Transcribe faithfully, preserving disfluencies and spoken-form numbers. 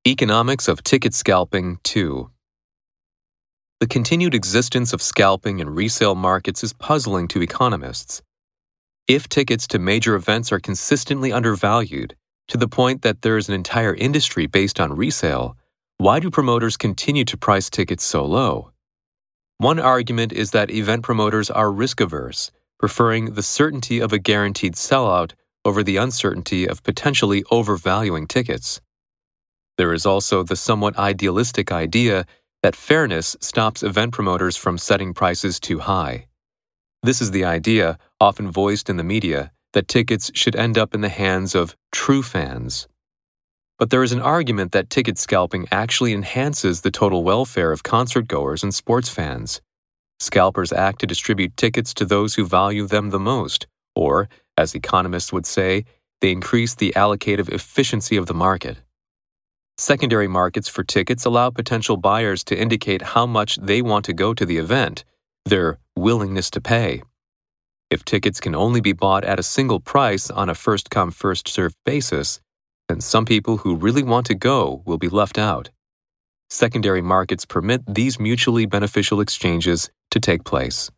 Economics of Ticket Scalping two. The continued existence of scalping in resale markets is puzzling to economists. If tickets to major events are consistently undervalued to the point that there is an entire industry based on resale, why do promoters continue to price tickets so low? One argument is that event promoters are risk-averse, preferring the certainty of a guaranteed sellout over the uncertainty of potentially overvaluing tickets. There is also the somewhat idealistic idea that fairness stops event promoters from setting prices too high. This is the idea, often voiced in the media, that tickets should end up in the hands of true fans. But there is an argument that ticket scalping actually enhances the total welfare of concert-goers and sports fans. Scalpers act to distribute tickets to those who value them the most, or, as economists would say, they increase the allocative efficiency of the market. Secondary markets for tickets allow potential buyers to indicate how much they want to go to the event, their willingness to pay. If tickets can only be bought at a single price on a first-come, first-served basis, then some people who really want to go will be left out. Secondary markets permit these mutually beneficial exchanges to take place.